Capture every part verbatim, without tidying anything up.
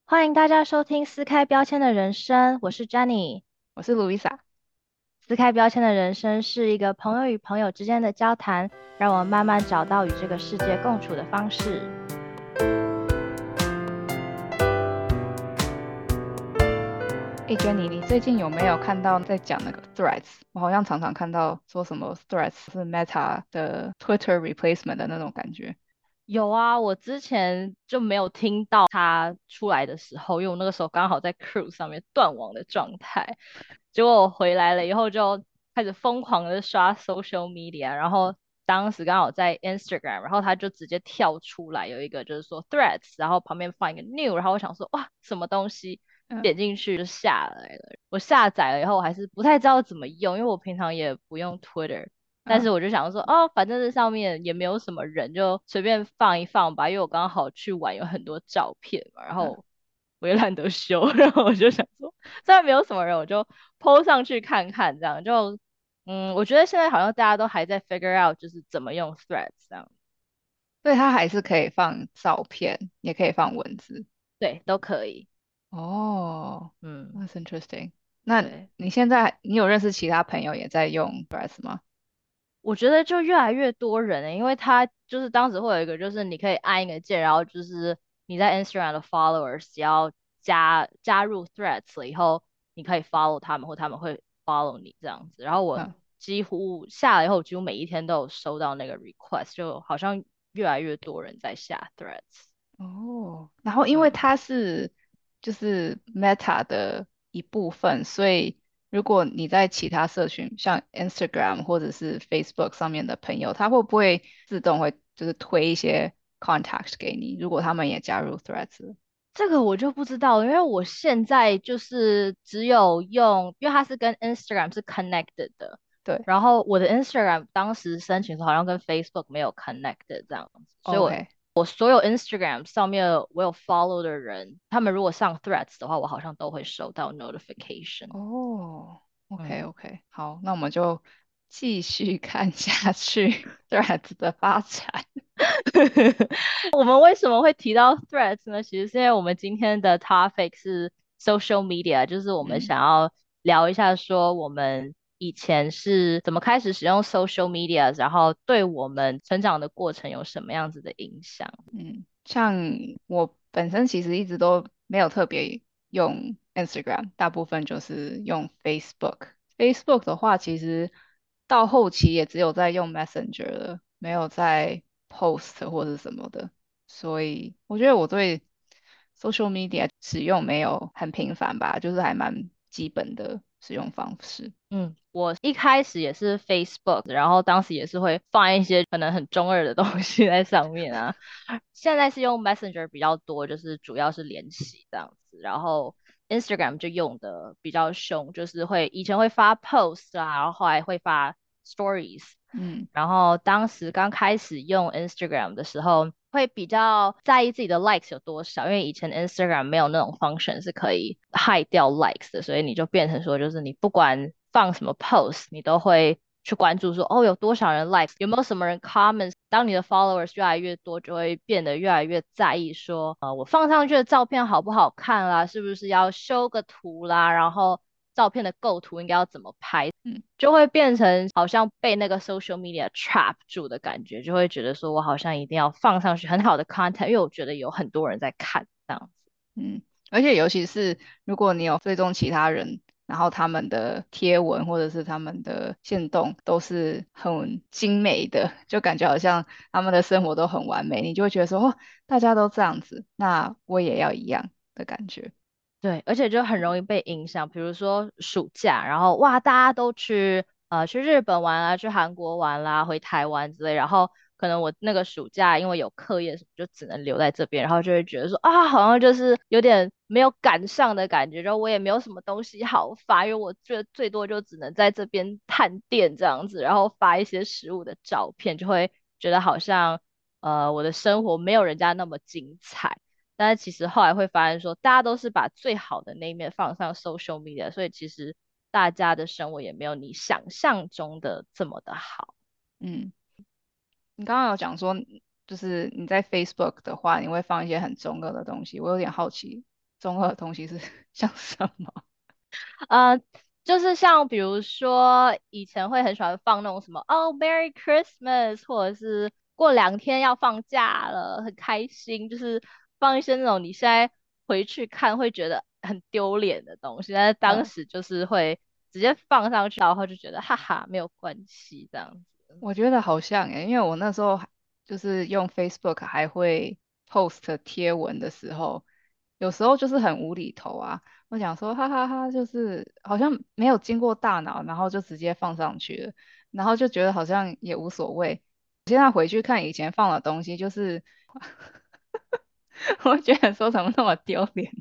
欢迎大家收听撕开标签的人生，我是 Jenny。 我是 Louisa。 撕开标签的人生是一个朋友与朋友之间的交谈，让我们慢慢找到与这个世界共处的方式。 哎，Jenny，你最近有没有看到在讲那个 Threads？我好像常常看到说什么 Threads 是 Meta 的 Twitter replacement 的那种感觉。 有啊，我之前就没有听到它出来的时候，因为我那个时候刚好在 cruise 上面断网的状态。结果我回来了以后就开始疯狂的刷 social media，然后当时刚好在 Instagram，然后它就直接跳出来有一个就是说 Threads，然后旁边放一个 new，然后我想说哇什么东西， 嗯点进去就下来了。我下载了以后我还是不太知道怎么用，因为我平常也不用 Twitter。但是嗯我就想说，哦，反正这上面也没有什么人，就随便放一放吧。因为我刚好去玩，有很多照片嘛，然嗯， 后我也懒得修，然后我就想说，虽然没有什么人，我就 po 上去看看，这样就，嗯，我觉得现在好像大家都还在 figure out，就是怎么用 Threads 这样， 所以它还是可以放照片，也可以放文字。 对，都可以， 哦嗯， ，that's interesting。那对。 你现在你有认识其他朋友也在用 Threads 吗？ 我觉得就越来越多人了，因为他就是当时会有一个，就是你可以按一个键，然后就是你在 Instagram 的 followers 只要加加入 Threads 了以后，你可以 follow 他们，或他们会 follow 你这样子。然后我嗯。 几乎下来以后，几乎每一天都有收到那个 request，就好像越来越多人在下 Threads。 哦，然后因为嗯。 它是就是 Meta 的一部分，所以如果你在其他社群，像 Instagram 或者是 Facebook 上面的朋友，他会不会自动会就是推一些 contact 给你？如果他们也加入 Threads 了。 这个我就不知道了，因为我现在就是只有用，因为它是跟 Instagram 是 connected 的， 对然后我的 Instagram 当时申请的时候好像跟 Facebook 没有 connected 这样子，所以我 ，OK。 我所有 Instagram 上面我有 follow 的人，他们如果上 Threads 的话，我好像都会收到 notification。 哦，OK 嗯。 OK，好，那我们就继续看下去 Threads 的发展。 我们为什么会提到 Threads 呢？其实是因为我们今天的 topic 是 social media，就是我们嗯想要聊一下说我们以前是怎么开始使用 social media，然后对我们成长的过程有什么样子的影响。 嗯，像我本身其实一直都没有特别用 Instagram，大部分就是用 Facebook。Facebook 的话，其实到后期也只有在用 Messenger 了，没有在 post 或者什么的。所以我觉得我对 social media 使用没有很频繁吧，就是还蛮基本的使用方式。 嗯，我一开始也是 Facebook，然后当时也是会放一些可能很中二的东西在上面啊。现在是用 Messenger 比较多，就是主要是联系这样子，然后 Instagram 就用的比较凶，就是会以前会发 post 啊，然后后来会发 stories， 嗯然后当时刚开始用 Instagram 的时候，会比较在意自己的 likes 有多少，因为以前 Instagram 没有那种 function 是可以 hide 掉 likes 的，所以你就变成说，就是你不管放什么 post，你都会去关注说，哦，有多少人 likes，有没有什么人 comments。当你的 followers 越来越多，就会变得越来越在意说，呃，我放上去的照片好不好看啦，是不是要修个图啦，然后照片的构图应该要怎么拍。 嗯。 就会变成好像被那个 social media trap 住的感觉，就会觉得说我好像一定要放上去很好的 content，因为我觉得有很多人在看这样子。 嗯，而且尤其是如果你有追踪其他人，然后他们的贴文或者是他们的线动都是很精美的，就感觉好像他们的生活都很完美，你就会觉得说，哦，大家都这样子，那我也要一样的感觉。 对，而且就很容易被影响，比如说暑假，然后哇，大家都去呃去日本玩啊，去韩国玩啦，回台湾之类，然后可能我那个暑假因为有课业什么，就只能留在这边，然后就会觉得说啊，好像就是有点没有赶上的感觉，然后我也没有什么东西好发，因为我最最多就只能在这边探店这样子，然后发一些食物的照片，就会觉得好像呃我的生活没有人家那么精彩。但是其实后来会发现说，大家都是把最好的那一面放上 social media，所以其实大家的生活也没有你想象中的这么的好。 嗯，你刚刚有讲说，就是你在 Facebook 的话，你会放一些很中二的东西，我有点好奇， 中二的东西是像什么？ 呃，就是像比如说以前会很喜欢放那种什么哦 Merry Christmas，或者是过两天要放假了，很开心，就是放一些那种你现在回去看会觉得很丢脸的东西，但是当嗯， 时就是会直接放上去，然后就觉得哈哈没有关系这样子。 我觉得好像诶，因为我那时候还就是用 Facebook 还会 post 贴文的时候，有时候就是很无厘头啊。我想说哈哈哈，就是好像没有经过大脑，然后就直接放上去了，然后就觉得好像也无所谓。现在回去看以前放的东西，就是我觉得说怎么那么丢脸。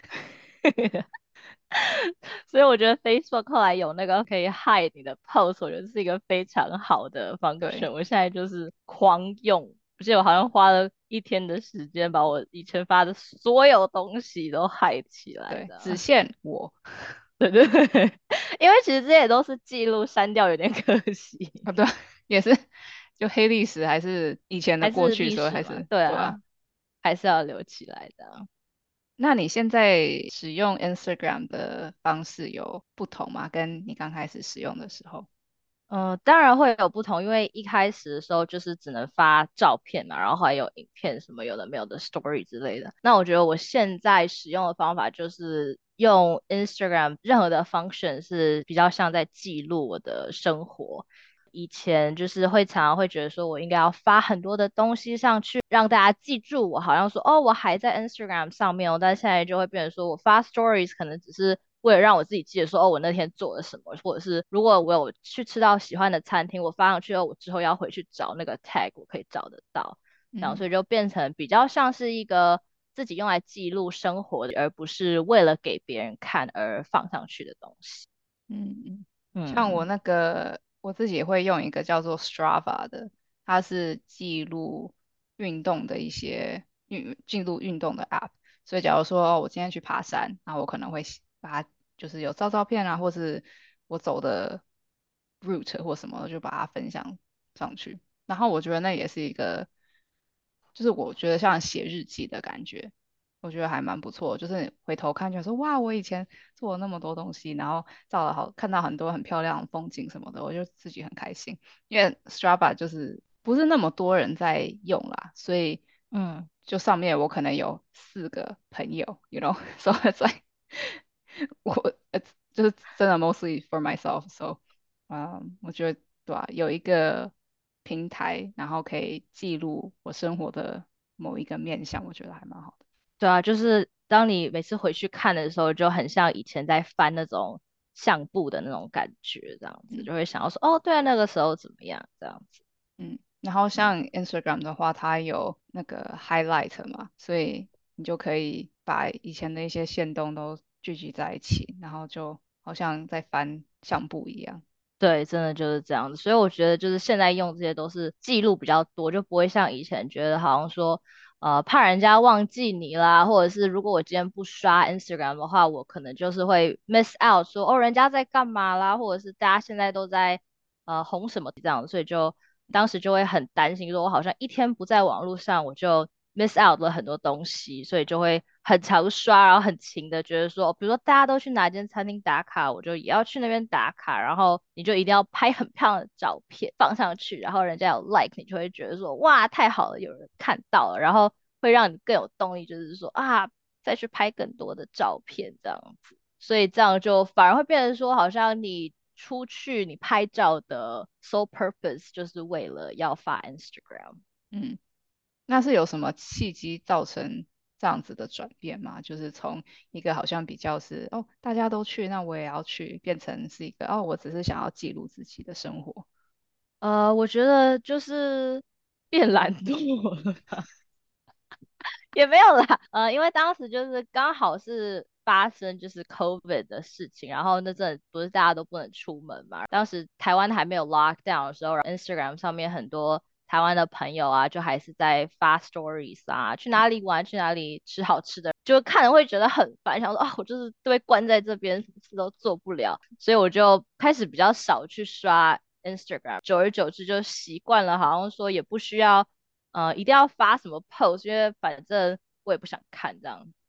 所以我觉得 Facebook 后来有那个可以 hide 你的 post，我觉得是一个非常好的 function。 对。 我现在就是狂用，而且我好像花了一天的时间把我以前发的所有东西都 hide 起来对，只的。 限我。 对对对，因为其实这些都是记录，删掉有点可惜， 啊，对，也是就黑历史，还是以前的还是过去， 历史嘛， 所以还是对啊。 对啊，还是要留起来的。 那你现在使用 Instagram 的方式有不同吗？跟你刚开始使用的时候？ 呃，当然会有不同，因为一开始的时候就是只能发照片嘛，然后还有影片什么有的没有的 story 之类的。那我觉得我现在使用的方法就是用 Instagram 任何的 function 是比较像在记录我的生活。以前就是会常常会觉得说我应该要发很多的东西上去，让大家记住我，好像说哦我还在 Instagram 上面哦，但现在就会变成说我发 stories 可能只是为了让我自己记得说哦我那天做了什么，或者是如果我有去吃到喜欢的餐厅，我发上去后，我之后要回去找那个 tag，我可以找得到，这样嗯所以就变成比较像是一个自己用来记录生活的，而不是为了给别人看而放上去的东西。 嗯嗯，像我嗯。 那个我自己也会用一个叫做 Strava 的，它是记录运动的一些运记录运动的 App。所以假如说哦我今天去爬山，那我可能会写把它就是有照照片啊，或是我走的 route 或什么的，就把它分享上去。然后我觉得那也是一个，就是我觉得像写日记的感觉。我觉得还蛮不错，就是你回头看就说哇，我以前做了那么多东西，然后照了好，看到很多很漂亮的风景什么的，我就自己很开心。因为 Strava 就是不是那么多人在用啦，所以嗯。 就上面我可能有四个朋友，you know，so it's like 我呃就是真的 mostly for myself，so 嗯，我觉得对啊，有一个平台，然后可以记录我生活的某一个面向，我觉得还蛮好的。 对啊，就是当你每次回去看的时候，就很像以前在翻那种相簿的那种感觉，这样子嗯。 就会想要说，哦，对啊，那个时候怎么样，这样子。 嗯，然后嗯， 像 Instagram 的话，它有那个 highlight 嘛，所以你就可以把以前的一些线动都聚集在一起，然后就好像在翻相簿一样。 对，真的就是这样子。所以我觉得就是现在用这些都是记录比较多，就不会像以前觉得好像说，呃，怕人家忘记你啦，或者是如果我今天不刷 Instagram 的话，我可能就是会 miss out 说，哦，人家在干嘛啦，或者是大家现在都在呃红什么这样，所以就当时就会很担心，说我好像一天不在网络上，我就 miss out 了很多东西，所以就会很常刷，然后很勤的觉得说，比如说大家都去哪间餐厅打卡，我就也要去那边打卡，然后你就一定要拍很漂亮的照片放上去，然后人家有 like，你就会觉得说，哇，太好了，有人看到了，然后会让你更有动力，就是说啊，再去拍更多的照片这样子。所以这样就反而会变成说，好像你出去你拍照的 sole purpose 就是为了要发 Instagram。 嗯，那是有什么契机造成这样子的转变吗？就是从一个好像比较是哦大家都去，那我也要去，变成是一个哦我只是想要记录自己的生活。 呃，我觉得就是变懒惰了吧，也没有啦，呃，因为当时就是刚好是发生就是 COVID 的事情，然后那阵不是大家都不能出门嘛，当时台湾还没有 lockdown 的时候，然后 Instagram 上面很多台湾的朋友啊，就还是在发 stories 啊，去哪里玩，去哪里吃好吃的，就看了会觉得很烦，想说啊，我就是被关在这边，什么事都做不了，所以我就开始比较少去刷 Instagram，久而久之就习惯了，好像说也不需要呃一定要发什么 post，因为反正我也不想看这样。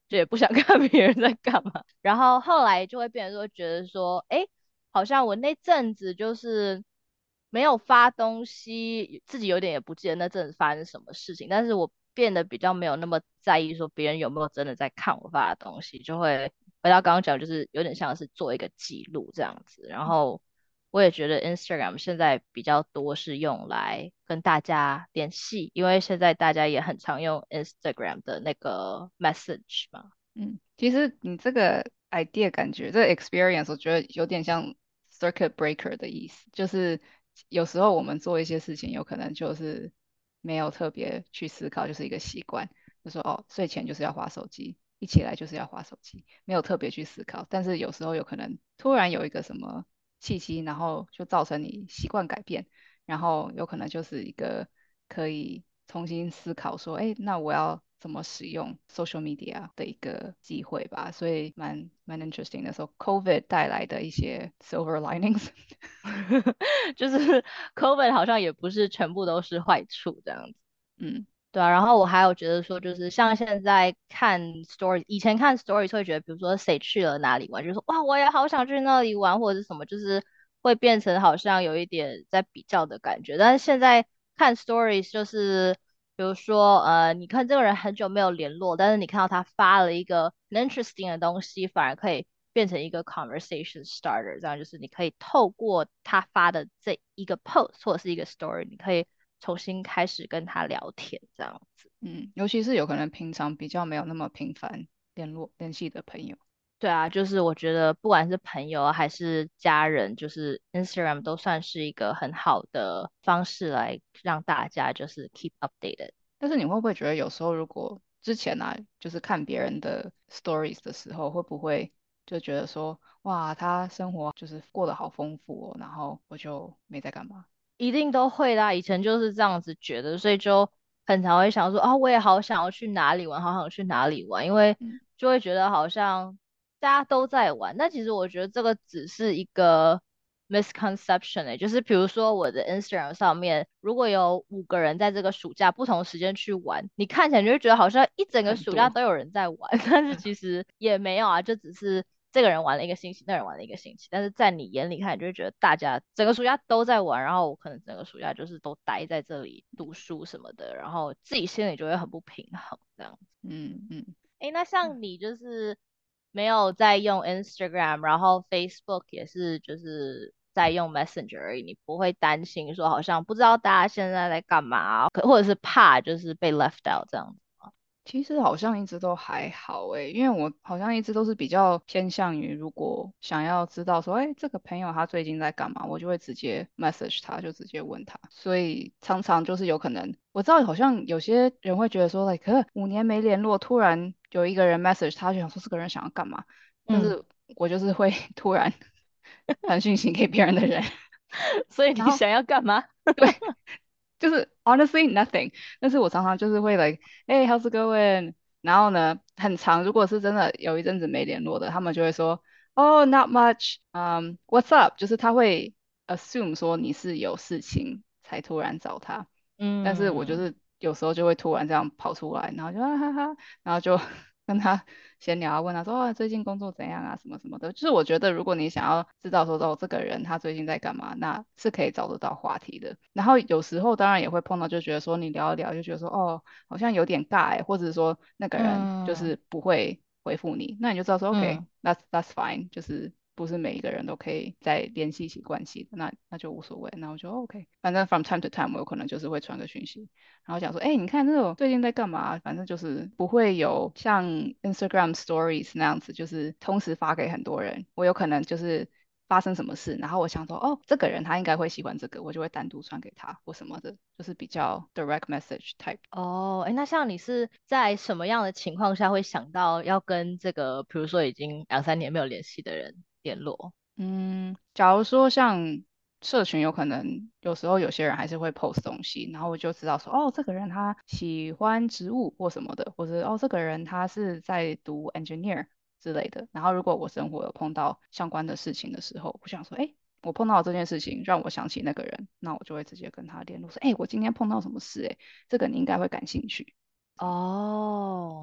就也不想看别人在干嘛。然后后来就会变成说，觉得说，哎，好像我那阵子就是没有发东西，自己有点也不记得那阵子发生什么事情，但是我变得比较没有那么在意说别人有没有真的在看我发的东西，就会回到刚刚讲，就是有点像是做一个记录这样子。然后我也觉得 Instagram 现在比较多是用来跟大家联系，因为现在大家也很常用 Instagram 的那个 message 嘛。 嗯，其实你这个 idea 感觉，这个 experience 我觉得有点像 circuit breaker 的意思，就是有时候我们做一些事情，有可能就是没有特别去思考，就是一个习惯，就说哦，睡前就是要划手机，一起来就是要划手机，没有特别去思考，但是有时候有可能突然有一个什么契机，然后就造成你习惯改变，然后有可能就是一个可以重新思考说，哎，那我要怎么使用 social media 的一个机会吧，所以蛮蛮 interesting 的。说 COVID 带来的一些 silver linings。 就是 COVID 好像也不是全部都是坏处这样子。 嗯对啊，然后我还有觉得说，就是像现在看 story，以前看 story 会觉得，比如说谁去了哪里玩，就说哇，我也好想去那里玩，或者是什么，就是会变成好像有一点在比较的感觉。但是现在看 stories，就是比如说呃，你看这个人很久没有联络，但是你看到他发了一个很 interesting 的东西，反而可以变成一个 conversation starter，这样就是你可以透过他发的这一个 post 或者是一个 story，你可以重新开始跟他聊天，这样子。 嗯，尤其是有可能平常比较没有那么频繁联络联系的朋友。 对啊，就是我觉得不管是朋友啊还是家人，就是 Instagram 都算是一个很好的方式来让大家就是 keep updated。 但是你会不会觉得有时候如果之前啊，就是看别人的 stories 的时候，会不会就觉得说，哇，他生活就是过得好丰富哦，然后我就没在干嘛？ 一定都会啦，以前就是这样子觉得，所以就很常会想说，啊，我也好想要去哪里玩，好想去哪里玩，因为嗯就会觉得好像大家都在玩。那其实我觉得这个只是一个 misconception 诶，就是比如说我的 Instagram 上面，如果有五个人在这个暑假不同时间去玩，你看起来你就会觉得好像一整个很多。 暑假都有人在玩，但是嗯其实也没有啊，就只是这个人玩了一个星期，那个人玩了一个星期，但是在你眼里看，你就会觉得大家整个暑假都在玩，然后我可能整个暑假就是都待在这里读书什么的，然后自己心里就会很不平衡这样。 嗯嗯。 诶，那像你就是没有在用 Instagram，然后 Facebook 也是就是在用 Messenger 而已，你不会担心说好像不知道大家现在在干嘛，可或者是怕就是被 left out 这样子吗？ 其实好像一直都还好诶，因为我好像一直都是比较偏向于，如果想要知道说，哎，这个朋友他最近在干嘛，我就会直接 message 他，就直接问他。所以常常就是有可能，我知道好像有些人会觉得说，like 可五年没联络，突然有一个人 message 他，就想说这个人想要干嘛，但嗯， 是我就是会突然传讯息给别人的人， 所以然后你想要干嘛？ 对，就是 honestly nothing。但是我常常就是会 like，哎，how's it going？然后呢，很长，如果是真的有一阵子没联络的，他们就会说，哦，not much，嗯，what's up？就是他会 assume 说你是有事情才突然找他，但是我就嗯是有时候就会突然这样跑出来，然后就啊哈哈，然后就跟他闲聊啊，问他说啊最近工作怎样啊什么什么的。就是我觉得如果你想要知道说哦这个人他最近在干嘛，那是可以找得到话题的。然后有时候当然也会碰到，就觉得说你聊一聊就觉得说哦好像有点尬欸，或者说那个人就嗯是不会回复你，那你就知道说 OK 嗯 that's that's fine，就是不是每一个人都可以再联系起关系的，那那就无所谓。那我就 OK，反正 from time to time 我有可能就是会传个讯息。然后讲说，哎，你看这种最近在干嘛？反正就是不会有像 Instagram Stories 那样子，就是同时发给很多人。我有可能就是发生什么事，然后我想说，哦，这个人他应该会喜欢这个，我就会单独传给他或什么的，就是比较 direct message type。 哦，哎，那像你是在什么样的情况下会想到要跟这个，比如说已经两三年没有联系的人联络？ 嗯，假如说像社群，有可能有时候有些人还是会 post 东西，然后我就知道说，哦，这个人他喜欢植物或什么的，或者哦，这个人他是在读 engineer 之类的。然后如果我生活有碰到相关的事情的时候，我想说，哎，我碰到这件事情让我想起那个人，那我就会直接跟他联络说，哎，我今天碰到什么事，哎，这个你应该会感兴趣。这样。 哦，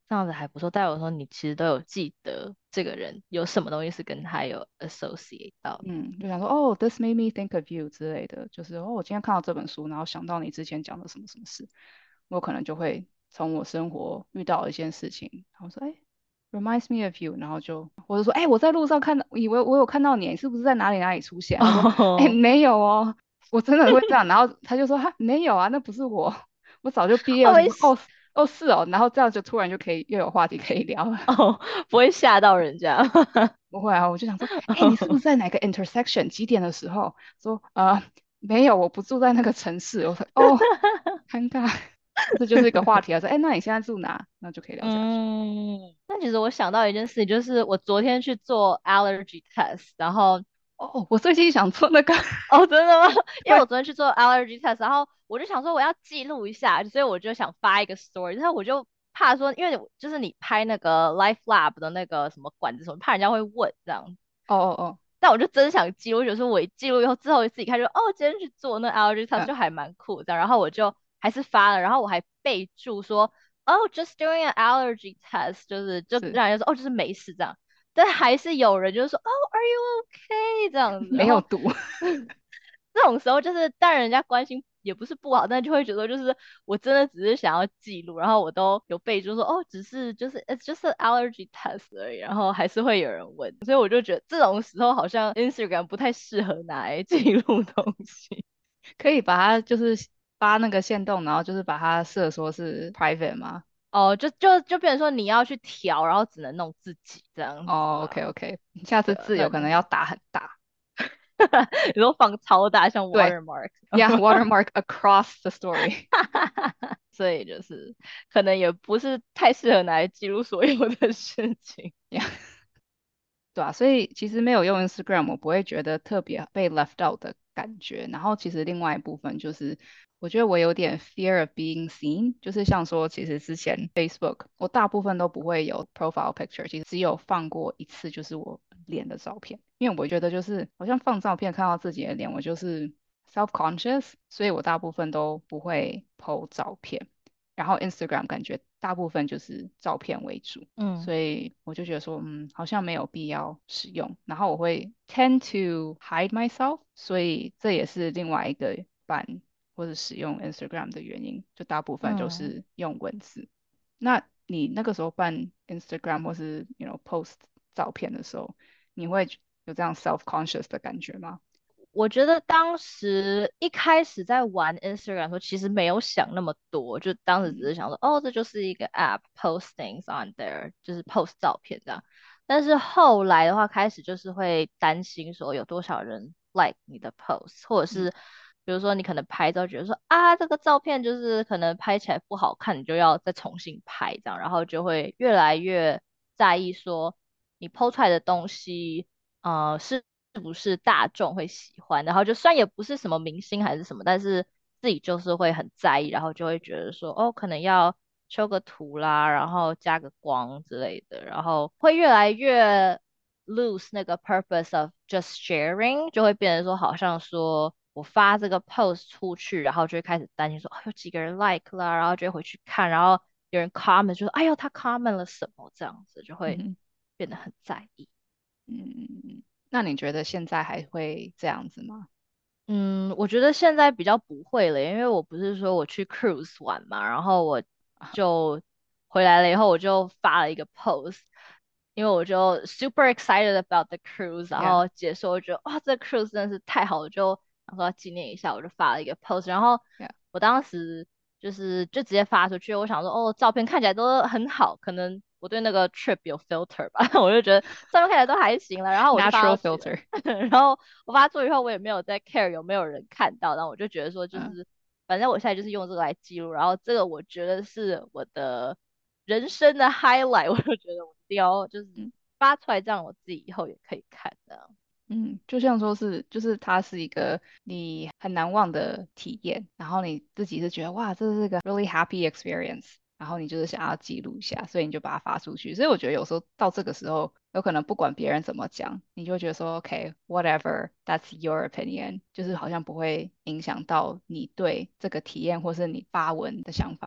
这样子还不错。代表说你其实都有记得这个人有什么东西是跟他有 associate 到。 嗯，就想说哦，this made me think of you 之类的，就是哦，我今天看到这本书，然后想到你之前讲的什么什么事，我可能就会从我生活遇到的一件事情，然后说哎，reminds me of you，然后就或者说哎，我在路上看到，以为我有看到你，你是不是在哪里哪里出现？他说哎， 哦没有哦，我真的会这样，然后他就说哈，没有啊，那不是我，我早就毕业， 哦， 我想没事说哦哦是哦，然后这样就突然就可以又有话题可以聊了。 哦，不会吓到人家。 不会啊，我就想说，哎，你是不是在哪个 intersection 几点的时候？说呃没有，我不住在那个城市。我说哦，尴尬，这就是一个话题啊。说，哎，那你现在住哪？那就可以聊下去。 嗯，那其实我想到一件事情，就是我昨天去做 allergy test，然后哦，我最近想做那个， 哦，真的吗？因为我对， 昨天去做 allergy test，然后我就想说我要记录一下，所以我就想发一个 story，然后我就怕说，因为我就是你拍那个 Life Lab 的那个什么管子什么，怕人家会问这样， 哦哦哦， 但我就真想记录，我觉得说我一记录以后，之后自己看就哦，今天去做那 allergy test 嗯， 就还蛮酷这样，然后我就还是发了，然后我还备注说哦，just doing an allergy test，就是就是让人家说哦，就是没事这样，但还是有人就是说哦，are you okay 这样子，然后没有毒， 这种时候就是当然人家关心也不是不好，但就会觉得就是我真的只是想要记录，然后我都有备注说哦，只是就是 it's just an allergy test 而已，然后还是会有人问，所以我就觉得这种时候好像 Instagram 不太适合拿来记录东西。 可以把它就是发那个限动，然后就是把它设说是 private 吗？ 哦，就就就变成说你要去调，然后只能弄自己这样子哦，OK 嘛。 OK，下次对啊，那就字有可能要打很大。 你说放超大像对 watermark， ，Yeah watermark across the story。 所以就是可能也不是太适合拿来记录所有的事情。 Yeah。对啊，所以其实没有用 Instagram，我不会觉得特别被 left out 的感觉。然后其实另外一部分就是，我觉得我有点 fear of being seen，就是像说，其实之前 Facebook 我大部分都不会有 profile picture，其实只有放过一次，就是我脸的照片，因为我觉得就是好像放照片看到自己的脸，我就是 self conscious，所以我大部分都不会 po 照片。然后 Instagram 感觉大部分就是照片为主。 嗯所以我就觉得说，嗯，好像没有必要使用。然后我会 tend to hide myself，所以这也是另外一个办或者使用 Instagram 的原因，就大部分都嗯。 是用文字。那你那个时候办 Instagram 或是 you know post 照片的时候，你会有这样 self conscious 的感觉吗？ 我觉得当时一开始在玩 Instagram 的时候，其实没有想那么多，就当时只嗯是想说，哦，这就是一个 app，post things on there，就是 post 照片这样。但是后来的话，开始就是会担心说有多少人 like 你的 post，或者嗯是比如说你可能拍照觉得说啊，这个照片就是可能拍起来不好看，你就要再重新拍这样，然后就会越来越在意说你 po 出来的东西。呃，是不是大众会喜欢，然后就算也不是什么明星还是什么，但是自己就是会很在意，然后就会觉得说，哦，可能要修个图啦，然后加个光之类的，然后会越来越 lose 那个 purpose of just sharing，就会变成说，好像说我发这个 post 出去，然后就会开始担心说，哦，有几个人 like 啦，然后就会回去看，然后有人 comment 就说，哎呦，他 comment 了什么这样子，就会嗯变得很在意。 嗯，那你觉得现在还会这样子吗？ 嗯，我觉得现在比较不会了，因为我不是说我去 cruise 玩嘛，然后我就回来了以后，我就发了一个 post，因为我就 super excited about the cruise，然 Yeah， 后结束我觉得哇，这 cruise 真的是太好了，就想说要纪念一下，我就发了一个 post，然后 yeah， 我当时就是就直接发出去，我想说哦，照片看起来都很好，可能我对那个 trip 有 filter 吧，我就觉得照片看起来都还行了，然后我就发 ，natural 出去了。 filter。 然后我发出以后，我也没有在 care 有没有人看到，然后我就觉得说，就嗯是反正我现在就是用这个来记录，然后这个我觉得是我的人生的 highlight，我就觉得我一定要就是嗯。 发出来，这样我自己以后也可以看的。 嗯，就像说是，就是它是一个你很难忘的体验，然后你自己是觉得哇，这是个 really happy experience，然后你就是想要记录一下，所以你就把它发出去。所以我觉得有时候到这个时候，有可能不管别人怎么讲，你就会觉得说，OK，whatever，that's your opinion，就是好像不会影响到你对这个体验或是你发文的想法。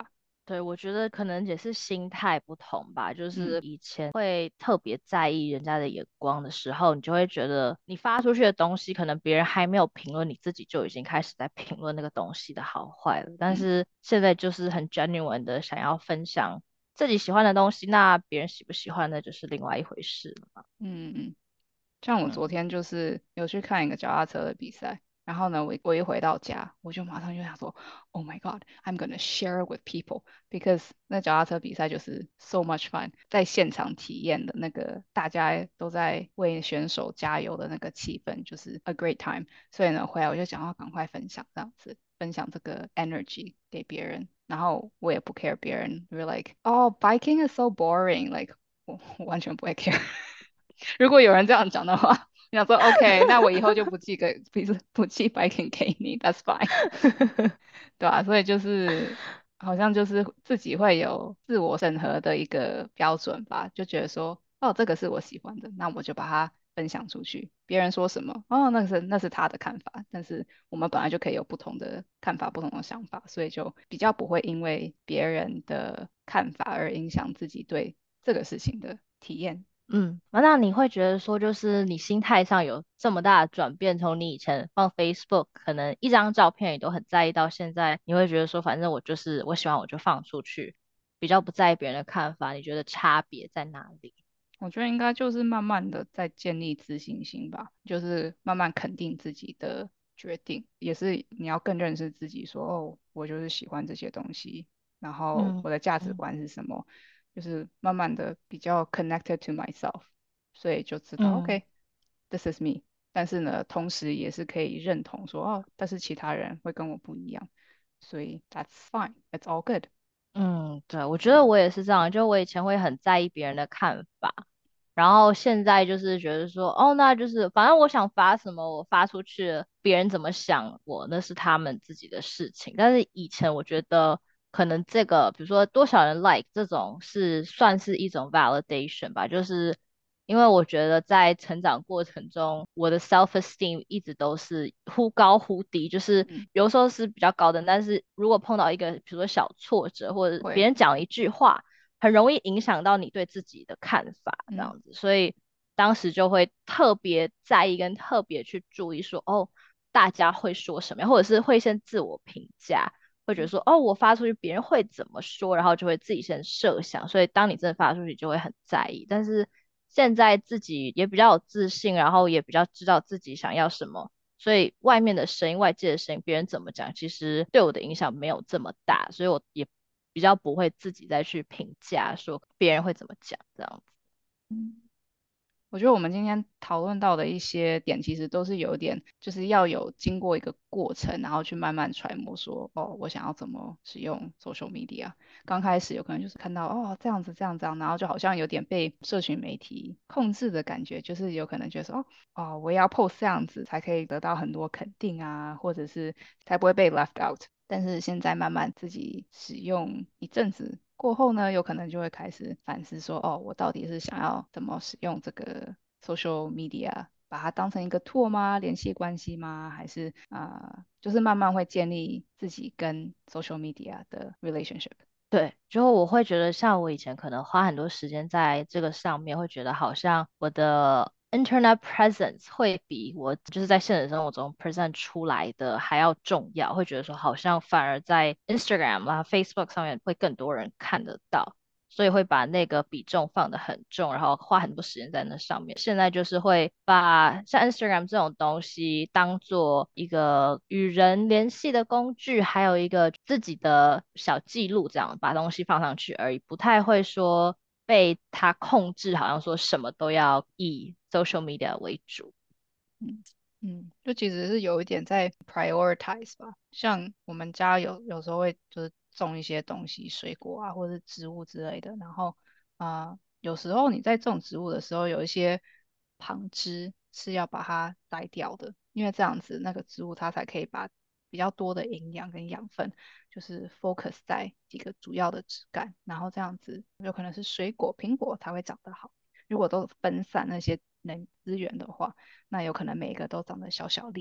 对，我觉得可能也是心态不同吧，就嗯是以前会特别在意人家的眼光的时候，你就会觉得你发出去的东西，可能别人还没有评论，你自己就已经开始在评论那个东西的好坏了。但嗯是现在就是很 genuine 的想要分享自己喜欢的东西，那别人喜不喜欢那就是另外一回事了嘛。 嗯嗯。像我昨嗯天就是有去看一个脚踏车的比赛，然后呢，我我一回到家，我就马上就想说，Oh my God, I'm gonna share it with people because 那脚踏车比赛就是 so much fun，在现场体验的那个大家都在为选手加油的那个气氛，就是 a great time。所以呢，回来我就想要赶快分享这样子，分享这个 energy 给别人，然后我也不 care 别人，we're like, oh, biking is so boring，like 我我完全不会 care。如果有人这样讲的话，你想说 OK，那我以后就不寄个不是不寄 biking 给你，That's fine，对吧、所以就是好像就是自己会有自我审核的一个标准吧，就觉得说哦这个是我喜欢的，那我就把它分享出去。别人说什么哦那是那是他的看法，但是我们本来就可以有不同的看法、不同的想法，所以就比较不会因为别人的看法而影响自己对这个事情的体验。 嗯，那你会觉得说，就是你心态上有这么大的转变，从你以前放 Facebook，可能一张照片你都很在意，到现在你会觉得说，反正我就是我喜欢我就放出去，比较不在意别人的看法，你觉得差别在哪里？ 我觉得应该就是慢慢的在建立自信心吧，就是慢慢肯定自己的决定，也是你要更认识自己说，哦，我就是喜欢这些东西，然后嗯我的价值嗯观是什么，就是慢慢的比较 connected to myself，所以就知道嗯 ，OK，this is me。但是呢，同时也是可以认同说，哦，但是其他人会跟我不一样，所以 that's fine，it's all good。 嗯，对，我觉得我也是这样，就我以前会很在意别人的看法，然后现在就是觉得说，哦，那就是反正我想发什么，我发出去了，别人怎么想我，那是他们自己的事情。但是以前我觉得可能这个，比如说多少人 like 这种是算是一种 validation 吧，就是因为我觉得在成长过程中，我的 self esteem 一直都是忽高忽低，就是嗯， 有时候是比较高的，但是如果碰到一个比如说小挫折，或者别会， 人讲了一句话。很容易影响到你对自己的看法，这嗯样子，所以当时就会特别在意跟特别去注意说，哦，大家会说什么样，或者是会先自我评价，会觉得嗯说，哦，我发出去别人会怎么说，然后就会自己先设想，所以当你真的发出去，就会很在意。但是现在自己也比较有自信，然后也比较知道自己想要什么。所以外面的声音、外界的声音，别人怎么讲，其实对我的影响没有这么大，所以我也比较不会自己再去评价说别人会怎么讲这样子。 嗯。我觉得我们今天讨论到的一些点，其实都是有点，就是要有经过一个过程，然后去慢慢揣摩说，哦，我想要怎么使用 social media。刚开始有可能就是看到，哦，这样子这样这样，然后就好像有点被社群媒体控制的感觉，就是有可能觉得说，哦，哦，我也要 post 这样子才可以得到很多肯定啊，或者是才不会被 left out。但是现在慢慢自己使用一阵子过后呢，有可能就会开始反思说，哦，我到底是想要怎么使用这个 social media，把它当成一个 tool 吗？联系关系吗？还是啊、呃就是慢慢会建立自己跟 social media 的 relationship。 对，就我会觉得，像我以前可能花很多时间在这个上面，会觉得好像我的 internet presence 会比我就是在现实生活中 present 出来的还要重要，会觉得说好像反而在 Instagram 啊、Facebook 上面会更多人看得到。所以会把那个比重放得很重，然后花很多时间在那上面。现在就是会把像 Instagram 这种东西当做一个与人联系的工具，还有一个自己的小记录，这样把东西放上去而已，不太会说被它控制，好像说什么都要以 social media 为主。 嗯嗯，就其实是有一点在 prioritize 吧，像我们家有有时候会就是种一些东西，水果啊或者是植物之类的，然后啊、呃有时候你在种植物的时候，有一些旁枝是要把它摘掉的，因为这样子那个植物它才可以把比较多的营养跟养分，就是 focus 在几个主要的枝干，然后这样子有可能是水果、苹果才会长得好。如果都分散那些能资源的话，那有可能每一个都长得小小粒的，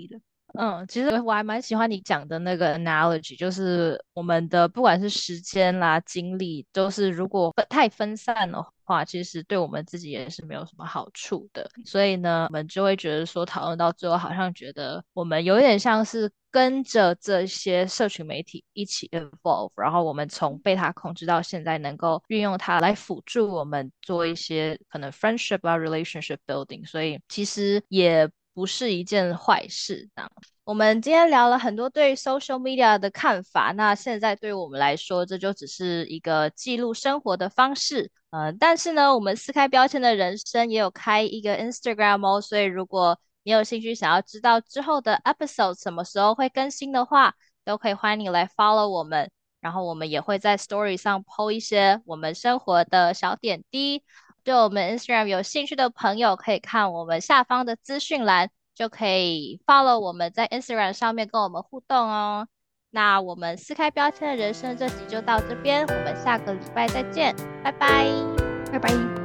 嗯，其实我还蛮喜欢你讲的那个 analogy，就是我们的不管是时间啦、精力，都是如果分太分散的话，其实对我们自己也是没有什么好处的。所以呢，我们就会觉得说，讨论到最后，好像觉得我们有点像是跟着这些社群媒体一起 evolve，然后我们从被它控制到现在，能够运用它来辅助我们做一些可能 friendship 啊、relationship building，所以其实也不是一件坏事。这样。我们今天聊了很多对 social media 的看法，那现在对我们来说，这就只是一个记录生活的方式。呃，但是呢，我们撕开标签的人生也有开一个 Instagram 哦，所以如果你有兴趣想要知道之后的 episode 什么时候会更新的话，都可以欢迎你来 follow 我们。然后我们也会在 story 上 po 一些我们生活的小点滴。对我们 Instagram 有兴趣的朋友，可以看我们下方的资讯栏。就可以 follow 我们在 Instagram 上面跟我们互动哦。那我们撕开标签的人生这集就到这边，我们下个礼拜再见，拜拜。 拜拜。